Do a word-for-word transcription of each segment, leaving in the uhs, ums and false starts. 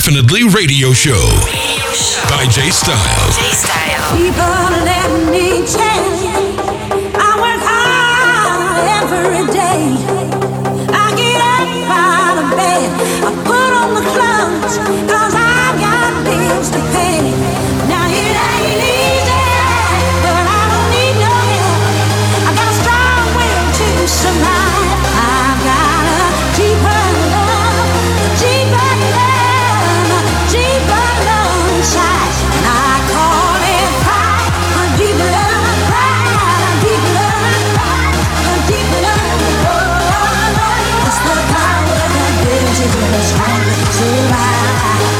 Definitely Radio Show by J Style. J Style. People, let me tell you, I work hard every day. I get up out of bed, I put on the clothes, cause I got bills to pay. Now it ain't easy, but I don't need no help. I got a strong will to survive. I've got a deeper love, deeper love, deeper love inside. And I call it pride, a deep love, pride, a deep love, a deep love. It's the power that gives you the strength to survive.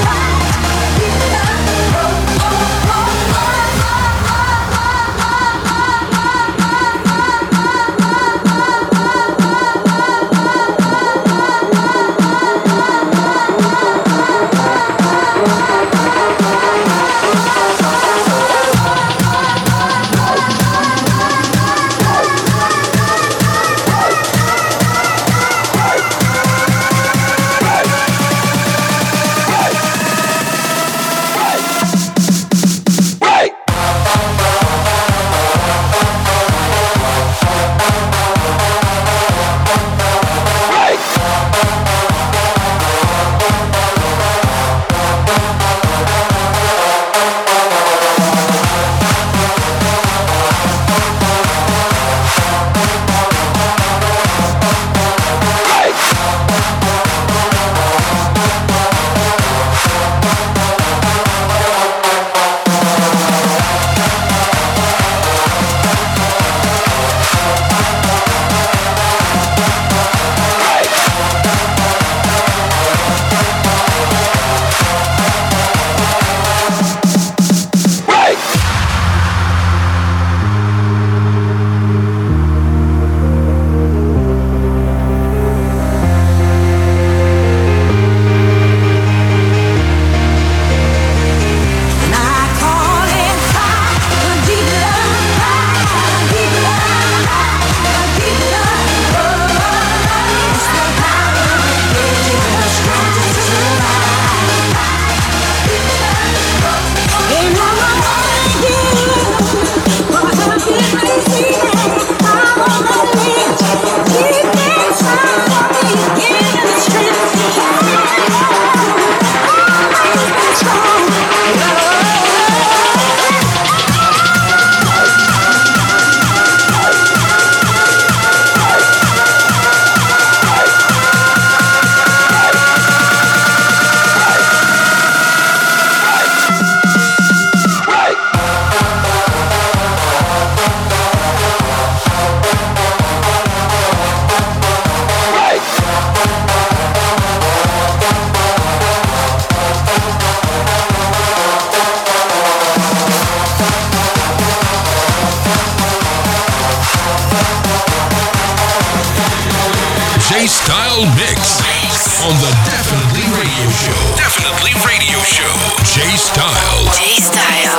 J-Style Mix on the Definitely Radio Show. Definitely Radio Show. J-Style. J-Style.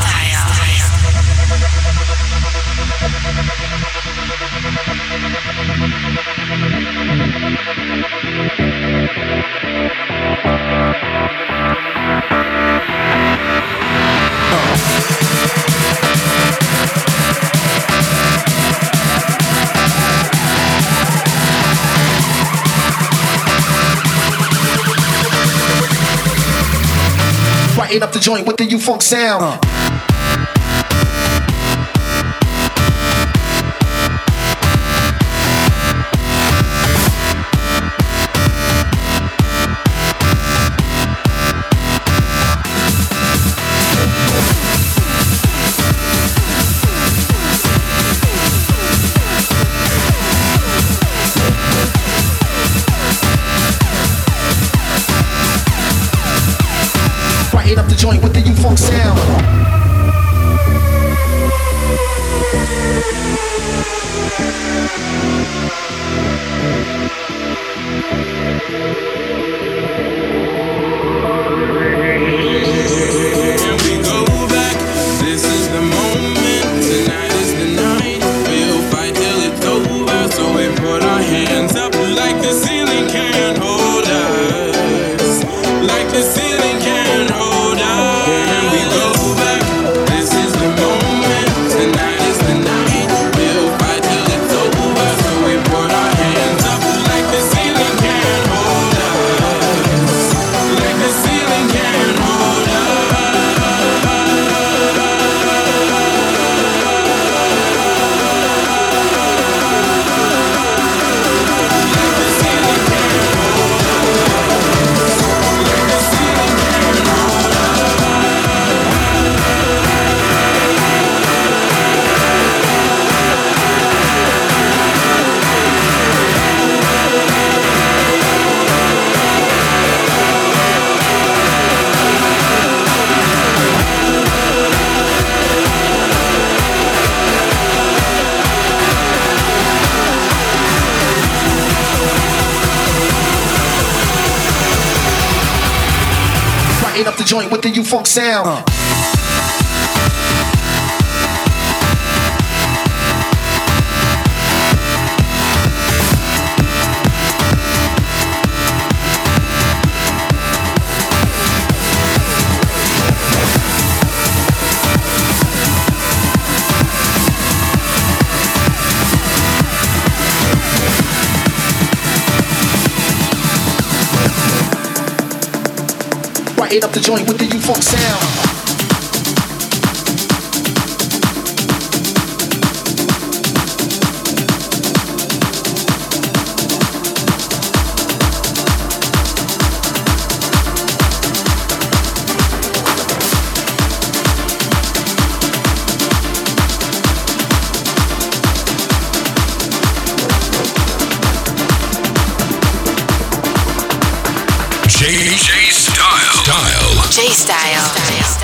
Brighten up the joint with the U-Funk sound. Uh. Up the joint with the U-Funk sound. Can we go back? This is the moment. Tonight is the night. We'll fight till it's over. So we put our hands up like the ceiling can't hold us. Like the ceiling. Brighten up the joint with the U-Funk sound. Uh. Brighten up the joint with the U-Funk sound. J J Style. Style. J Style. Style.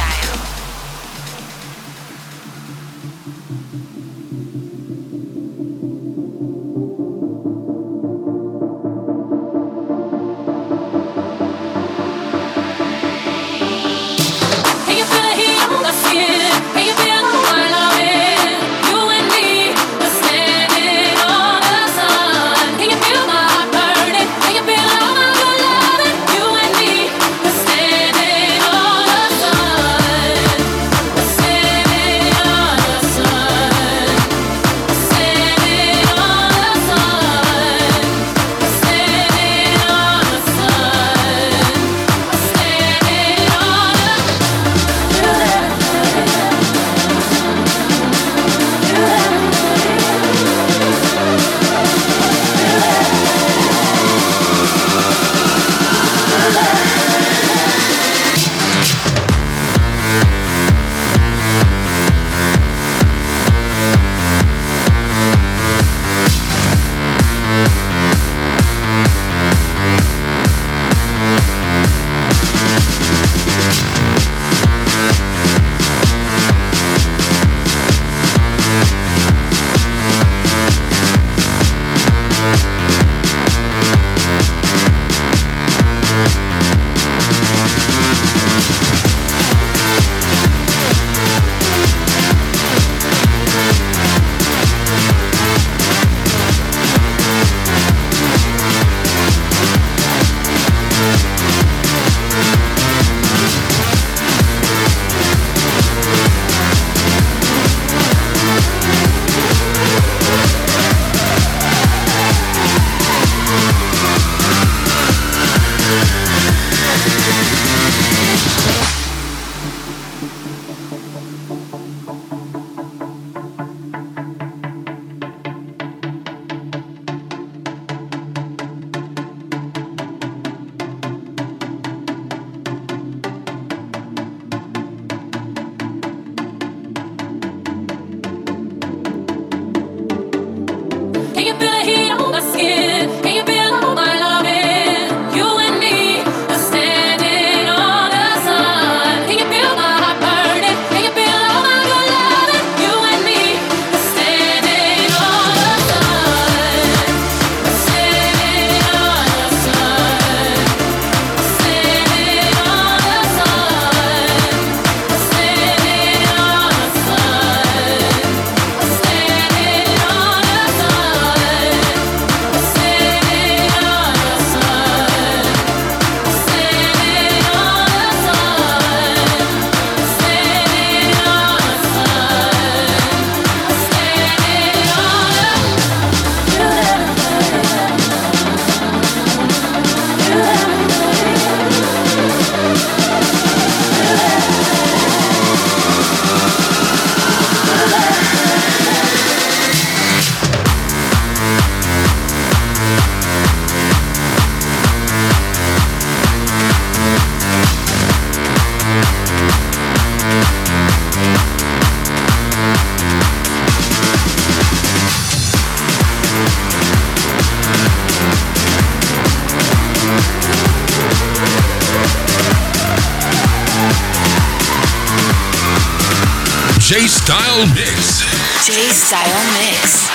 J Style Mix. J Style Mix.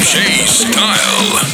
J Style.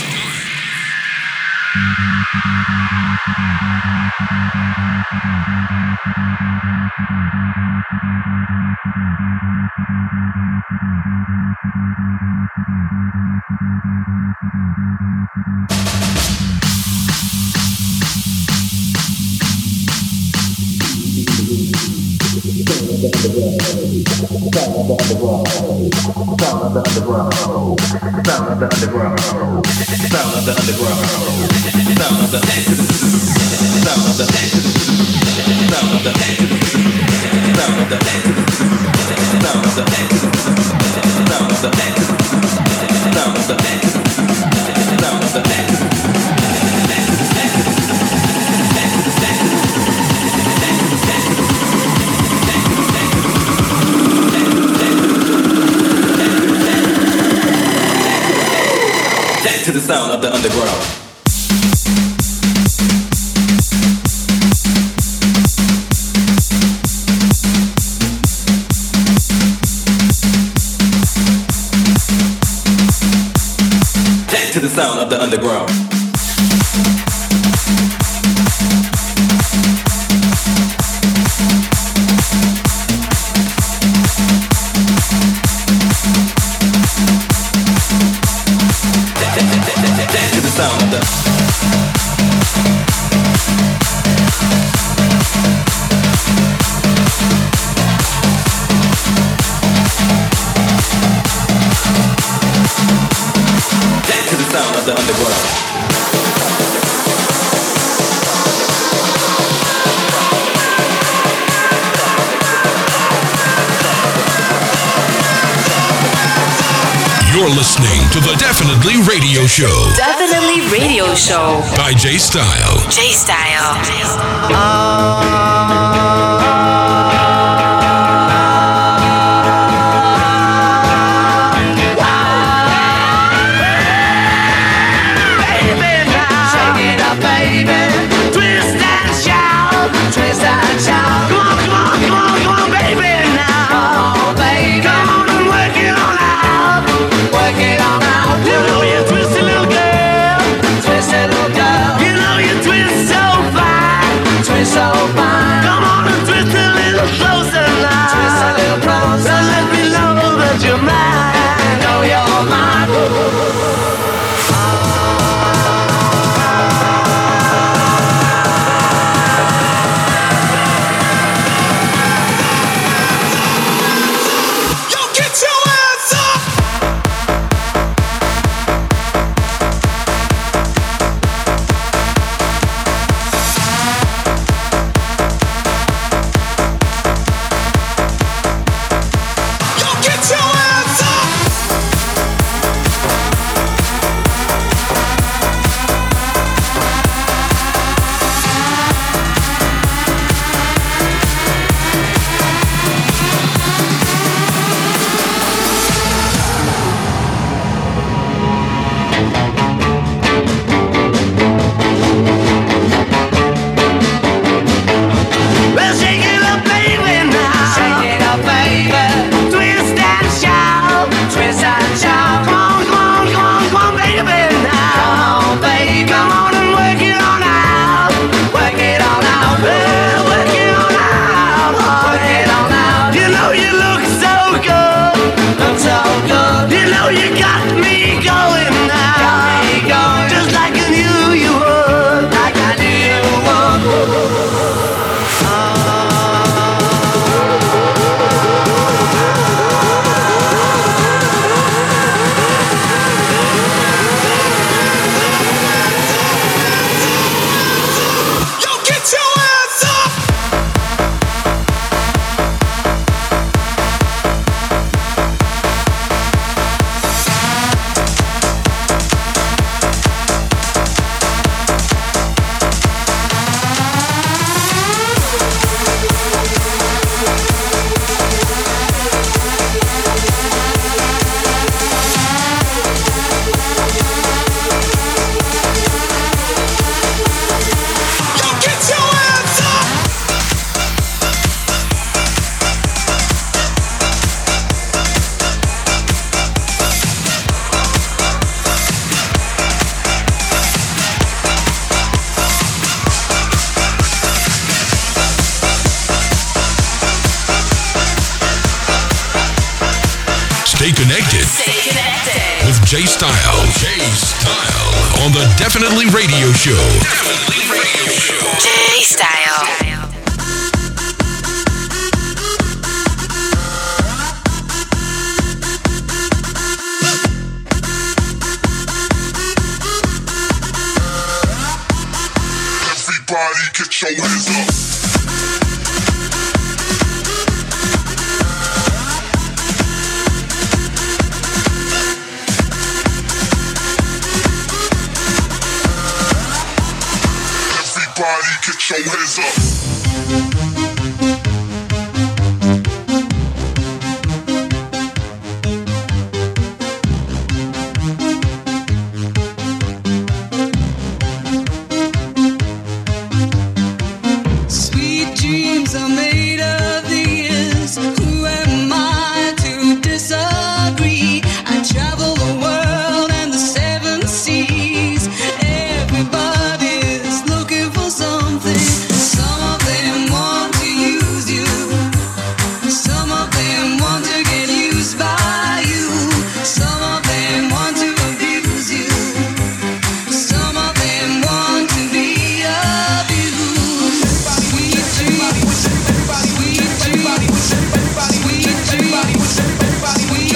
To the sound of the underground. To the sound of the underground. To the sound of the to the sound of the underground. You're listening to the Definitely Radio Show. Definitely Radio Show. By J Style. J Style. Twist and shout. Come on, come on, come on, come on, baby now. Oh, baby. Come on and work it on out. Work it on out. You know you twist a little girl. Twist a little girl. You know you twist so fine. Twist so fine. Come on. connected. Stay connected. With J Style. J Style. On the Definitely Radio Show. Definitely Radio Show. J Style. Everybody get your hands up. Everybody get your hands up. Sweet dreams are made of these. Who am I to disagree? I travel the world and the seven seas. Everybody's looking for something. Some of them want to use you. Some of them want to get used by you. Some of them want to abuse you. Some of them want to be abused. Sweet dreams, sweet dreams, sweet dreams, sweet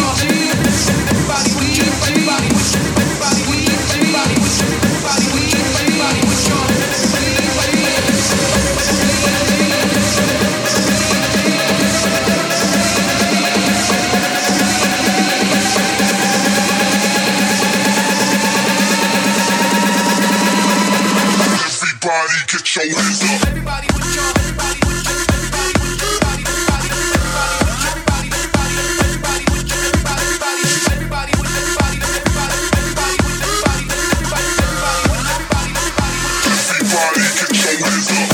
Everybody get your hands up. Everybody with your, everybody with your, everybody with your, everybody, everybody, everybody, everybody with your, everybody, everybody, everybody with everybody, everybody, everybody with everybody, everybody, everybody with everybody, everybody get your hands up.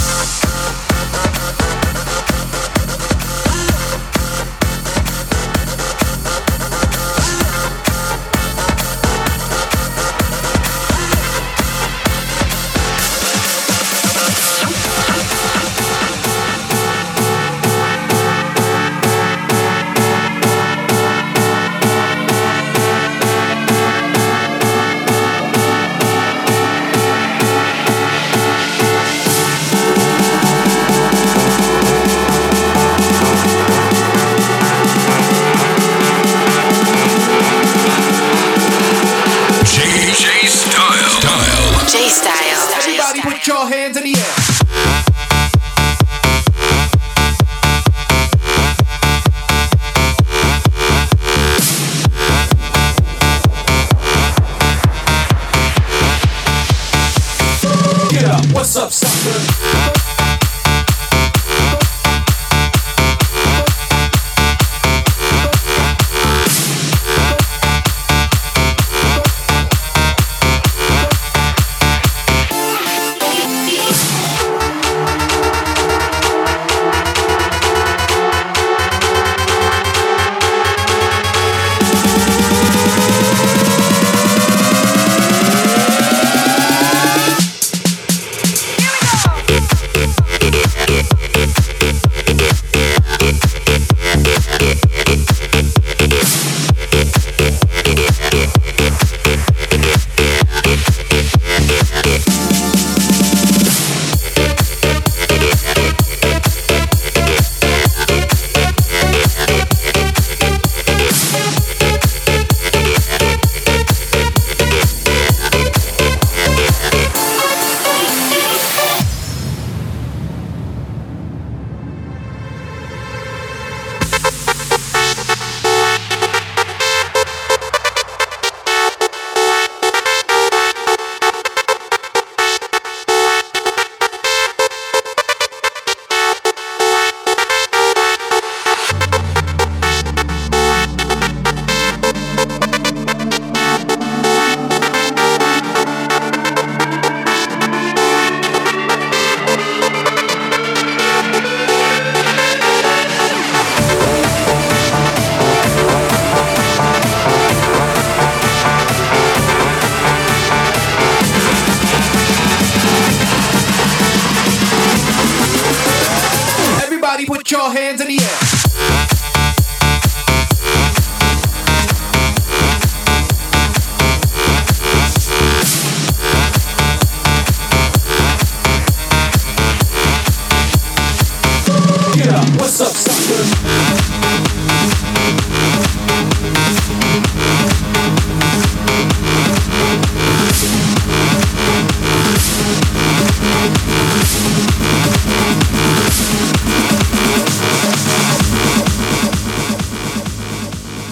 J J Style. Style. J Style. Everybody put your hands in the air. Get up, what's up, sucker?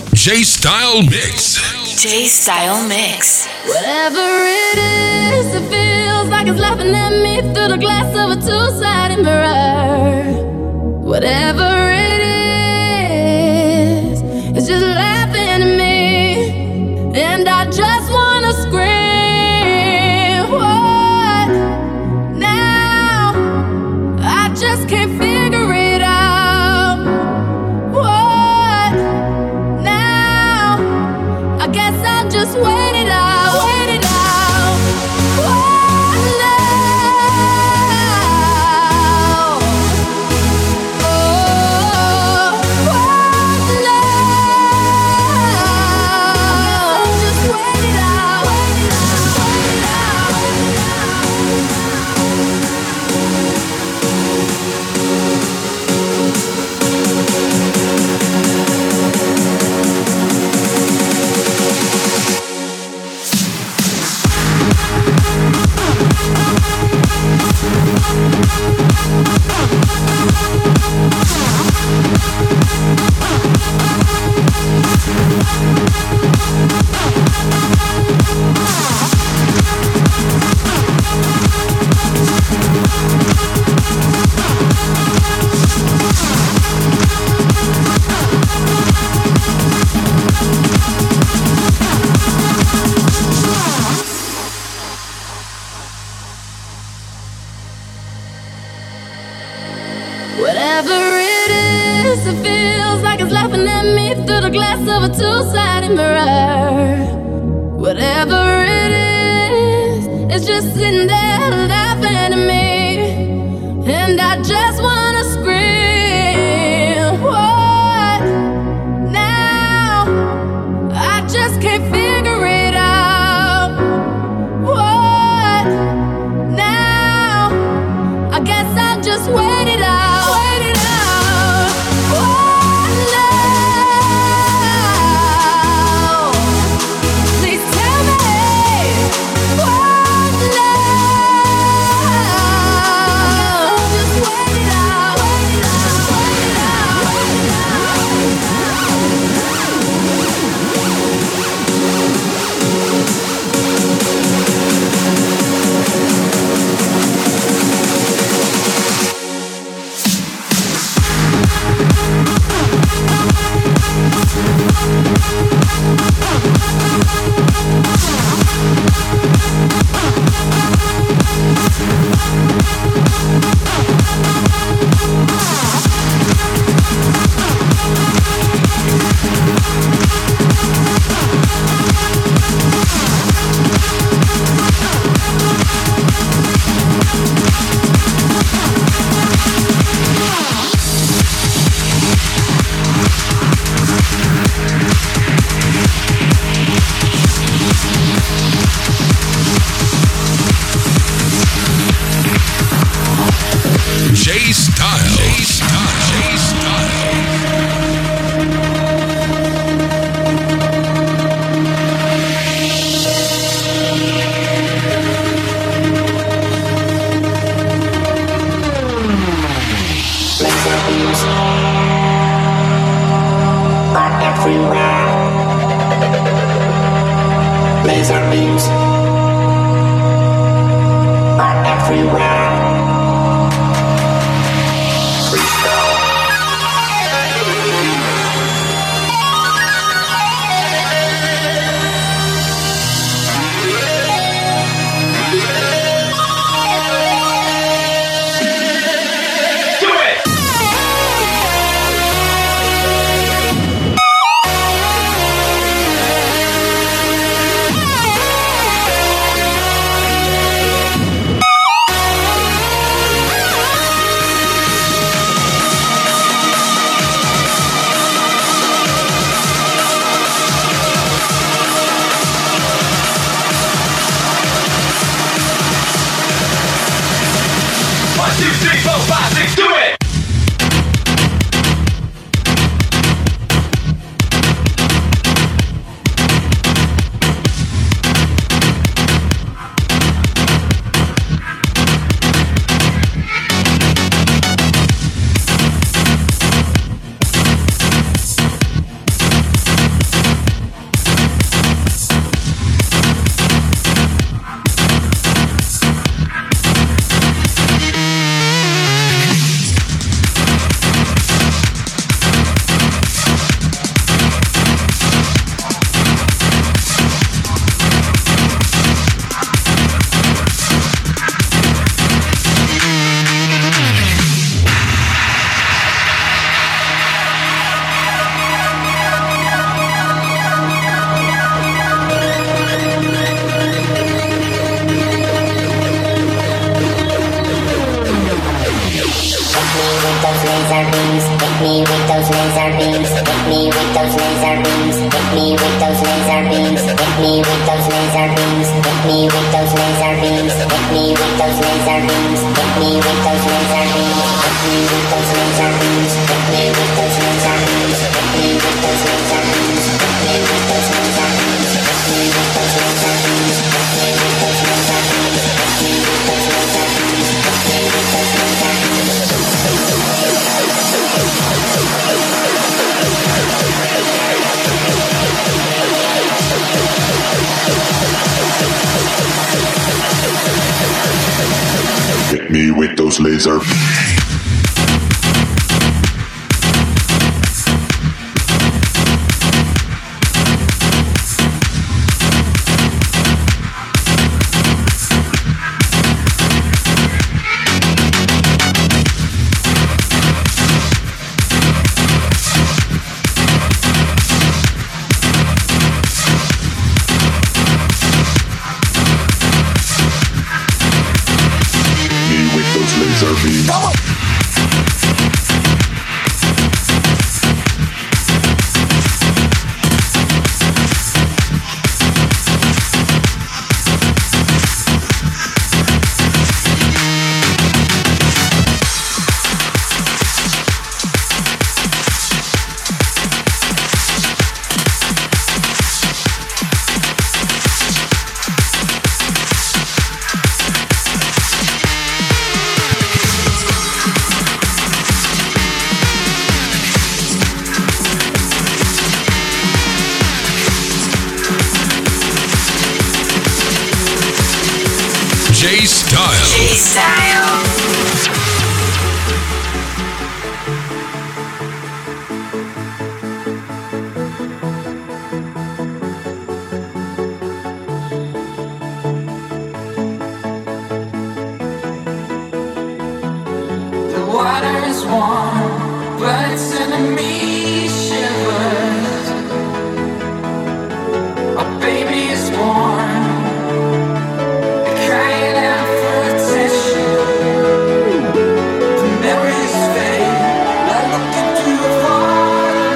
J-Style Mix. J-Style Mix. Whatever it is, it feels like it's laughing at me through the glass of a two-sided mirror. Whatever it is, it's just laughing at me, and I just wanna scream. What now? I just can't figure it out. What now? I guess I'll just wait it out, wait it out. What now? Oh, what now? Just wait it out, wait it out, wait it out. Whatever it is, it feels like it's laughing at me through the glass of a two-sided mirror. Whatever it is, it's just sitting there laughing at me, and I just wanna scream. What now? I just can't figure it out. What now? I guess I'll just wait it out. Wait it out. What now? Please tell me. What now? Just wait it out. Wait it out. Wait it out. Wait it J-Style. J-Style. J-Style. Laser beams are everywhere. laser beams. Hit me with those laser beams. Hit me with those laser beams. Hit me with those laser beams. Hit me with those laser beams. Hit me with those laser beams. Hit me with those laser beams. Hit me with those laser beams. Hit me with those laser beams. Hit me with those laser beams. Hit me with those laser beams. Hit me with those laser beams. Hit me with those laser beams. Hit me with those laser beams. Hit me with those laser. J-Style. J-Style. The water is warm, but it's sending me shivers. A baby is born, crying out for attention. The memories fade, I look into a far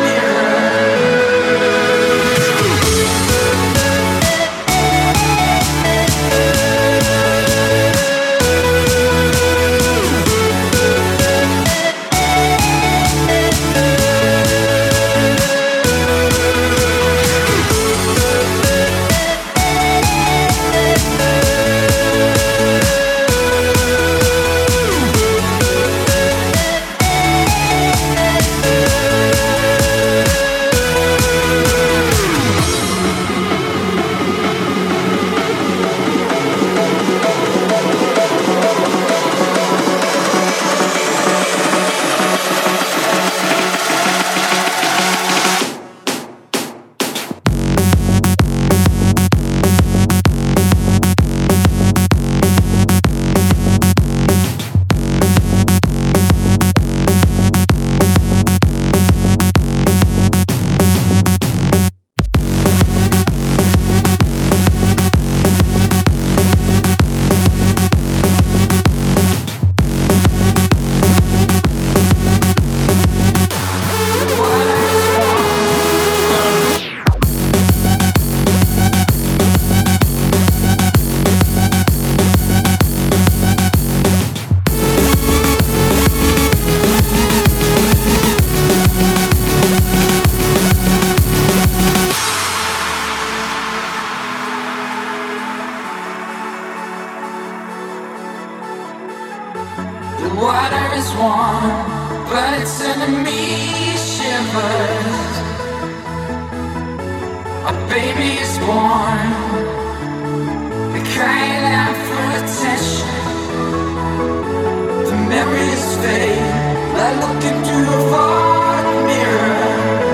mirror.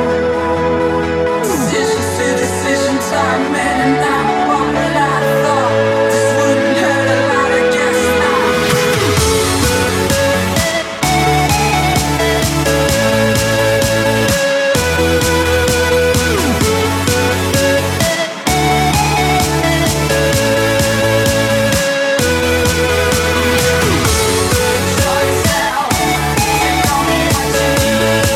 Decisions to decisions are made, and I'm what I thought. This wouldn't hurt a lot, I guess Try yourself, take on me what you need.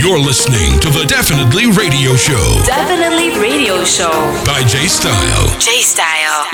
You're listening to the Definitely Radio Show Definitely Radio Show by J Style. J Style.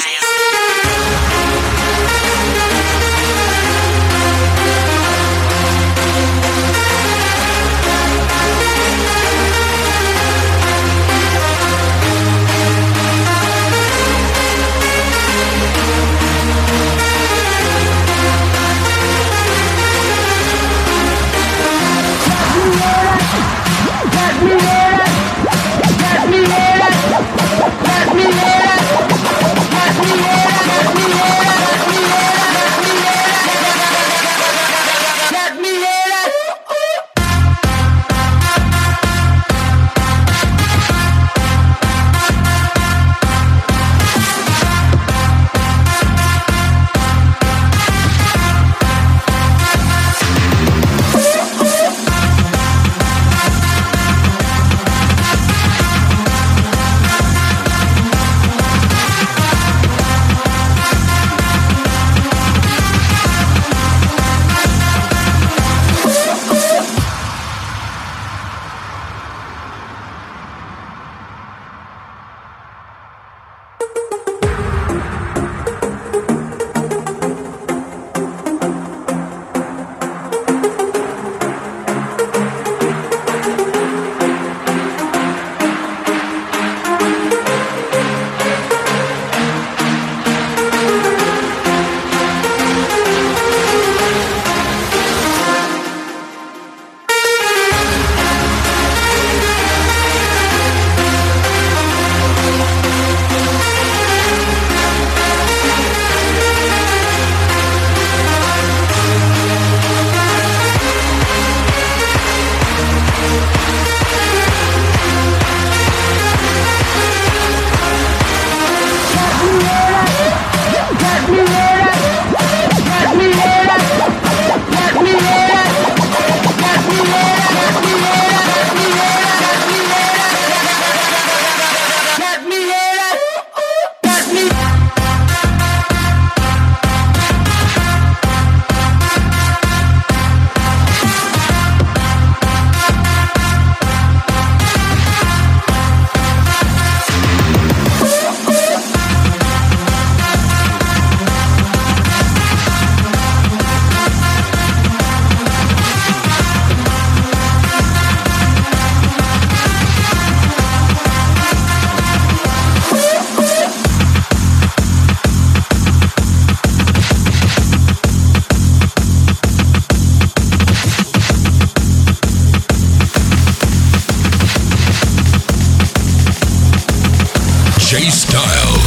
J Style.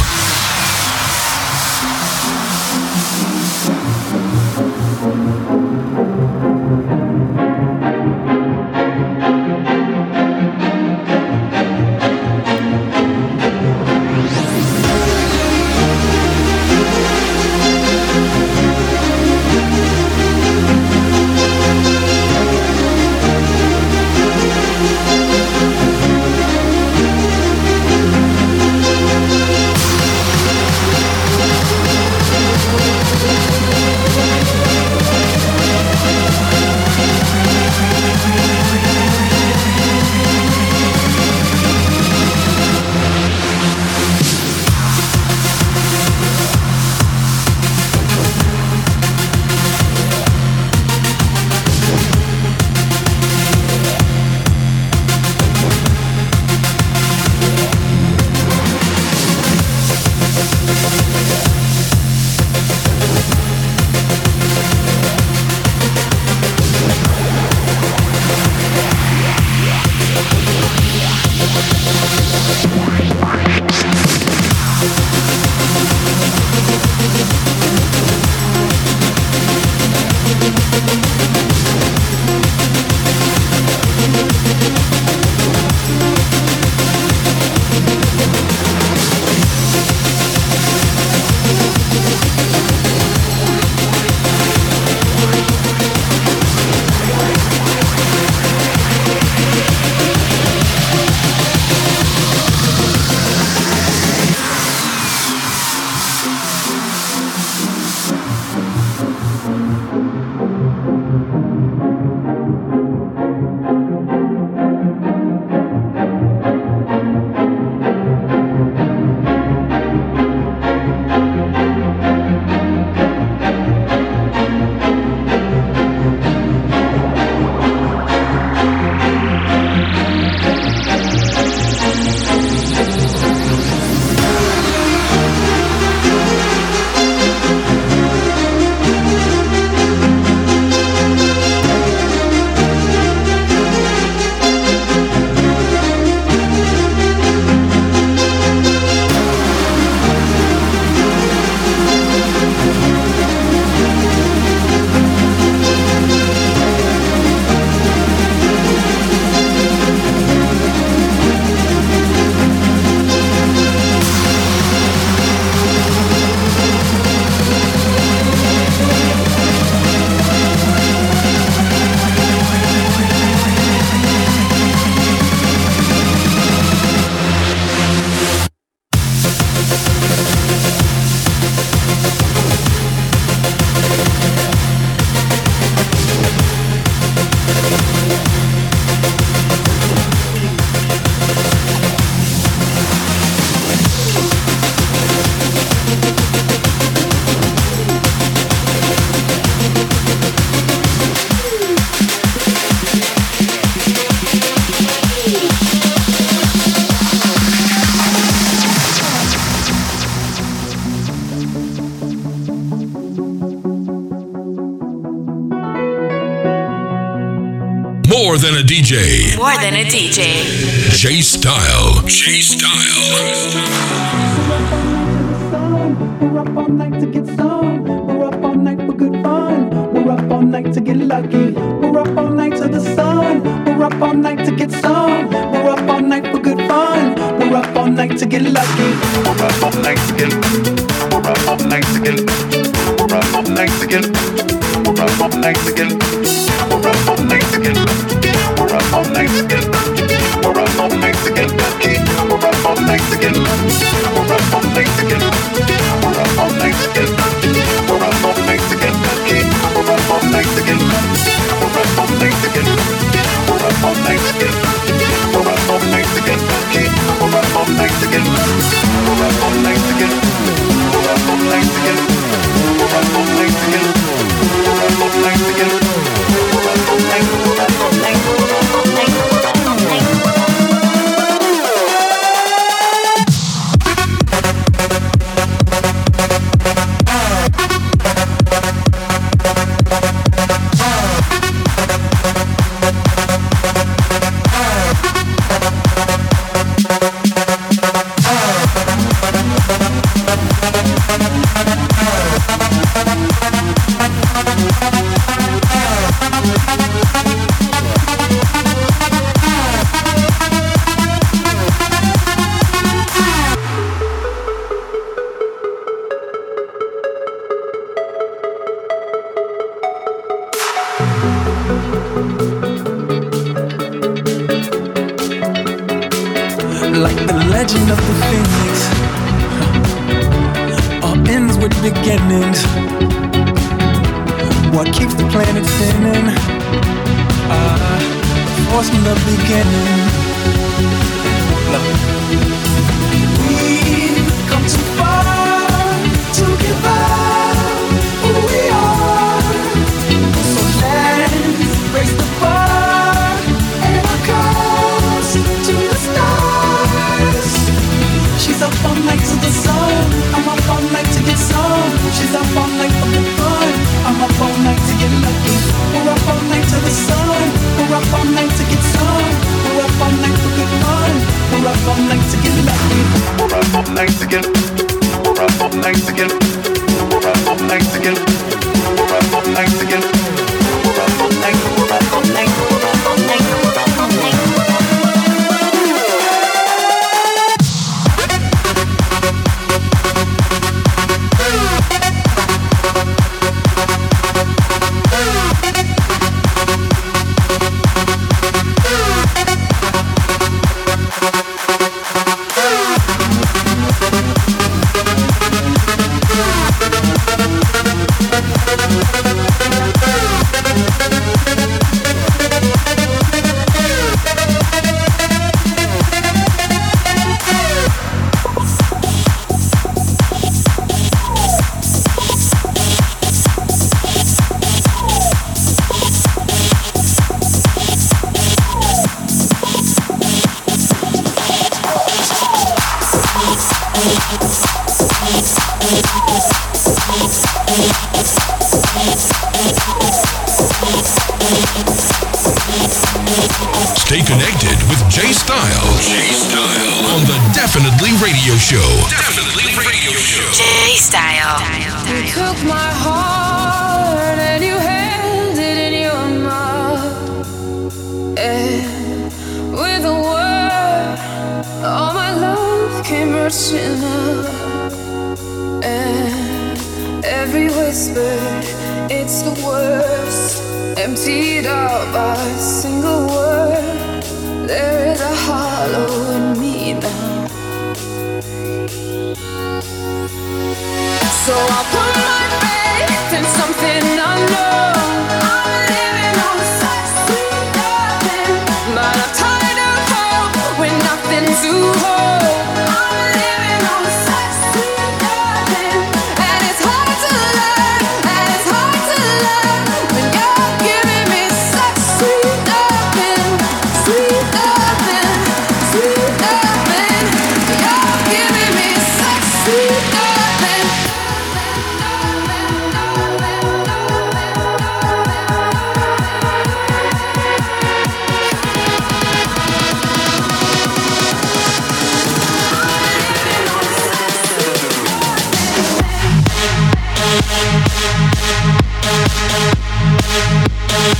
more than a D J. More than a D J. J Style. J Style. We're up all night to get some. We're up all night for good fun. We're up all night to get lucky. We're up all night to the sun. We're up all night to get some. We're up all night for good fun. We're up all night to get lucky. We're up all night to get. We're up all night to get. We're up all night to get. We're up all night to get. We're up all night to get. We're up all night to get. We're up all night to get lucky. We're up all night to get. We're up all night to get. We're up all night to get. We're up all night to get lucky. We're up all night to get. We're up all night to get. We're up all night to get. We're up all night to get lucky. We're up all night to get. We're up all night to get. We're up all night to get. We're up all night to get. We're up all night to get. We're up all night. We're up all night. We're up all night. We're up all night. Like the legend of the phoenix, all ends with beginnings. What keeps the planet spinning? Ah, the force from the beginning. Look. We've come too far to give up who we are. So let's raise the bar and our cause to the stars. She's up all night to the sun. I'm up all night to get some. She's up all night for the fun. I'm up all night to get lucky. We're up all night to the sun. We're up all night to get some. We're up all night for good fun. We're up all night to get lucky. We're up all night to get. We're up all night to get. We're up all night to get. We're up all night to get. We're up all night. We're up all night. We're up all night. We're up all night. Stay connected with J Style. J Style on the Definitely Radio Show. Definitely Radio Show. J Style. You took my heart and you held it in your mouth. And with a word, all my love came rushing out. And every whisper, it's the worst. Emptied out by a single word. There is a hollow in me now. So I'll put my faith in something unknown. I'm living on such sweet nothing, but I'm tired of hope with nothing to hold. I'm living on such sweet nothing, and it's hard to learn, and it's hard to learn when you're giving me such sweet nothing, sweet nothing, sweet nothing. You're giving me such sweet nothing.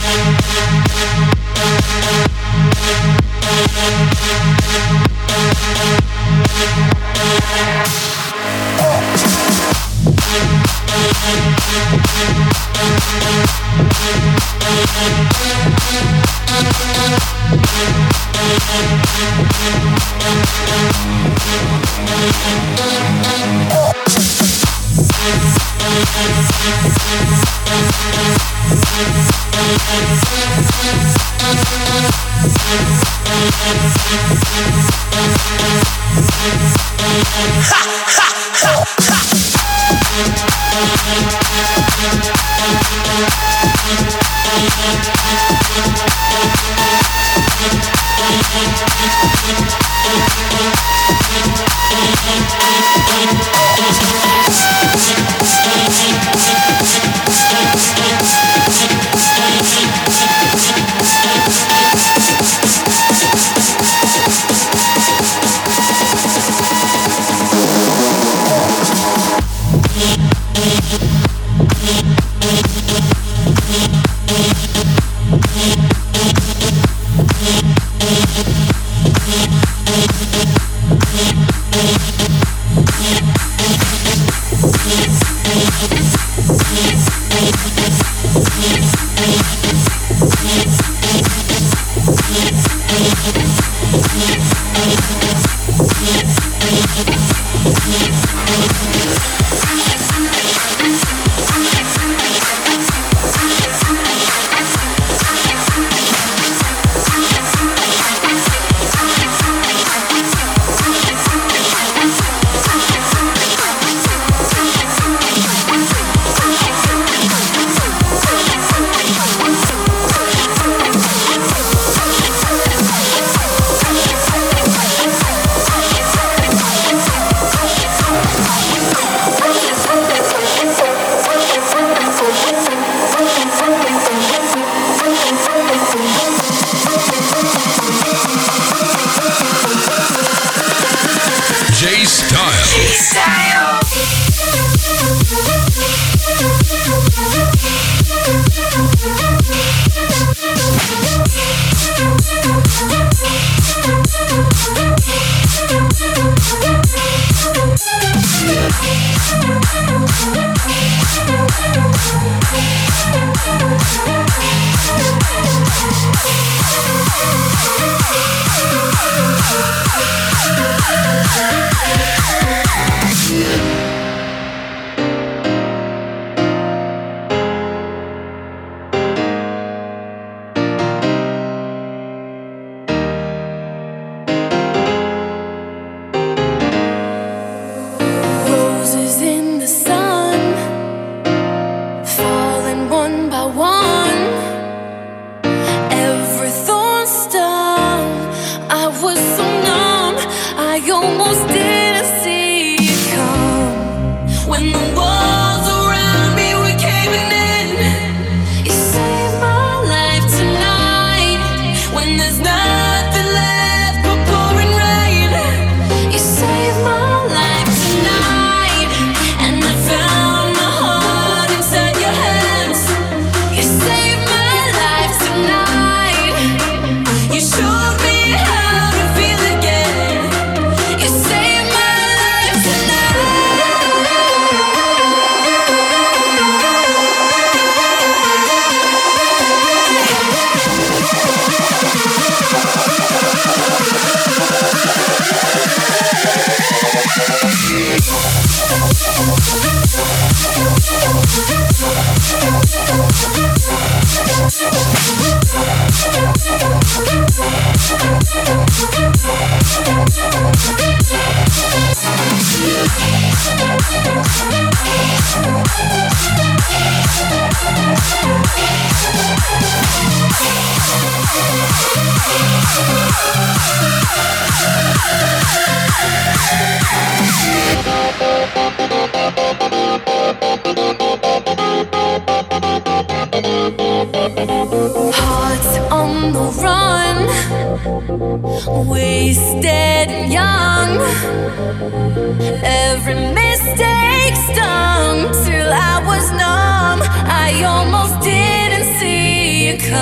Hearts on the run, wasted and young. Every mistake stung till I was numb. I almost didn't see you come.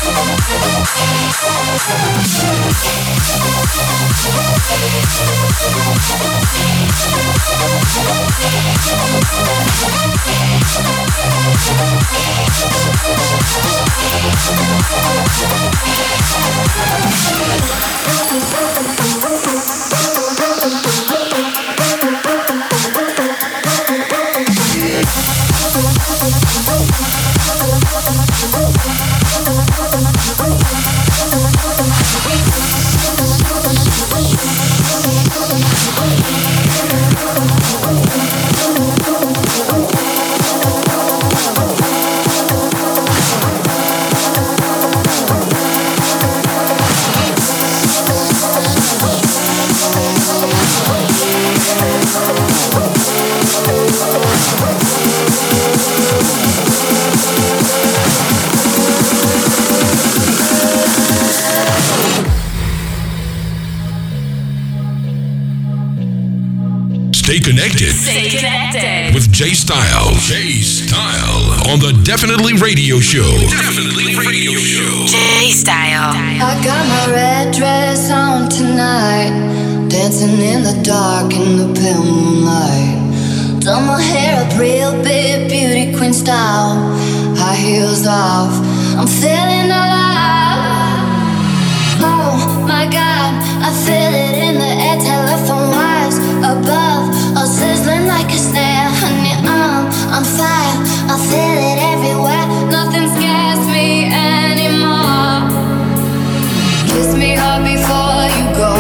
Stay connected. Stay connected with Jay Style. Jay Style on the Definitely Radio Show. Definitely Radio Show. Jay Style. I got my red dress on tonight, dancing in the dark in the pale moonlight. Done my hair up real big, beauty queen style. High heels off, I'm feeling alive. Oh my God, I feel it in the air, telephone wires above, all sizzling like a snare. Honey, I'm on fire, I feel it everywhere. Nothing scares me anymore. Kiss me hard before you go.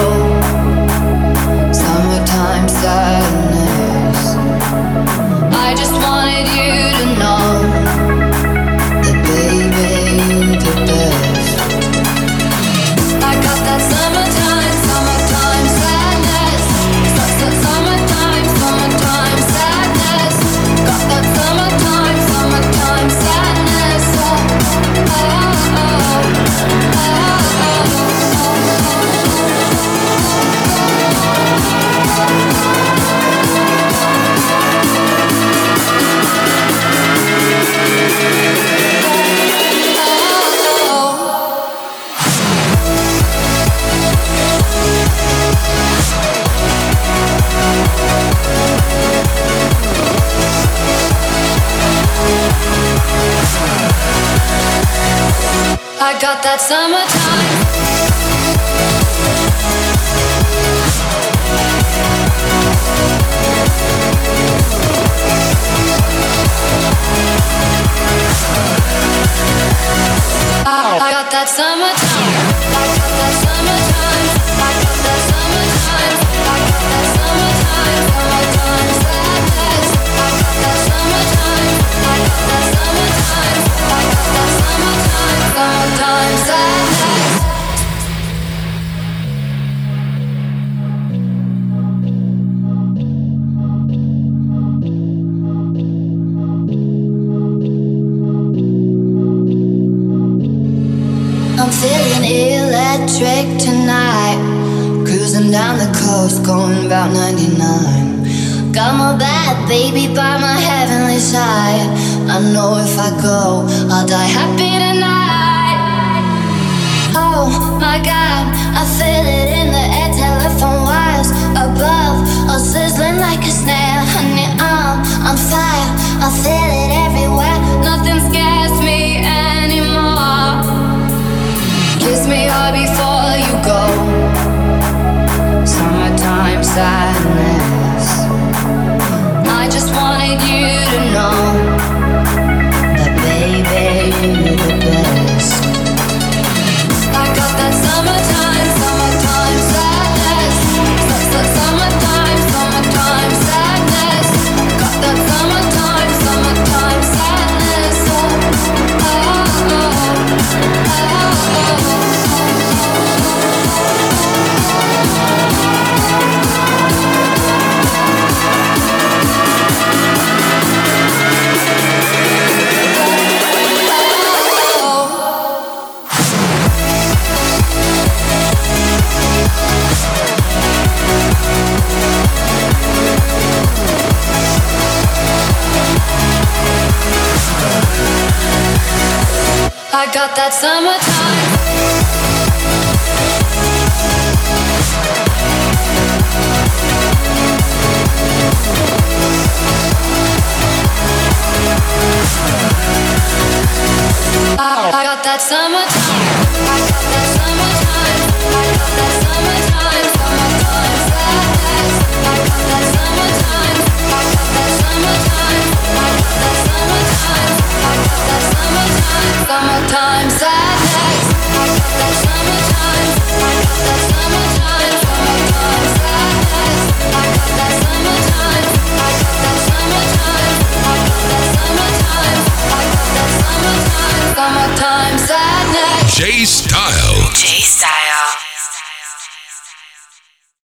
Summertime sadness. I just wanted you to know that baby, the best. I got that summertime, summertime sadness. Summertime, summertime sadness. Got that summertime, summertime sadness. Oh, oh, oh, oh, I got that summertime. I, I got that summertime. I got that summertime. I got that summertime. I got that summertime. Summertime sadness. I got that summertime. I got that summertime. I got that summertime. Summertime sadness. I'm feeling electric tonight, cruising down the coast, going about ninety-nine. Got my bad baby by my heavenly side. I know if I go, I'll die happy tonight. Oh my God, I feel it in the air, telephone wires above, all sizzling like a snare. Honey, I'm on fire, I feel it everywhere. Nothing scares me anymore. Kiss me hard before you go. Summertime sadness. I just wanted you to know that baby, you're the best. I got that summertime, summertime sadness. Summertime, summertime sadness. Got that summertime, summertime sadness. I got that summertime. I got that summertime. I got that summertime. I got that summertime. Summertime sadness. I got that summertime. I got that summertime. I got that summertime. I got that summertime. Summertime sadness. I got that summertime. I got that summertime. Summertime sadness. I got that summertime. I got that summertime. I got that summertime. I got that summertime. Summertime sadness. J Style.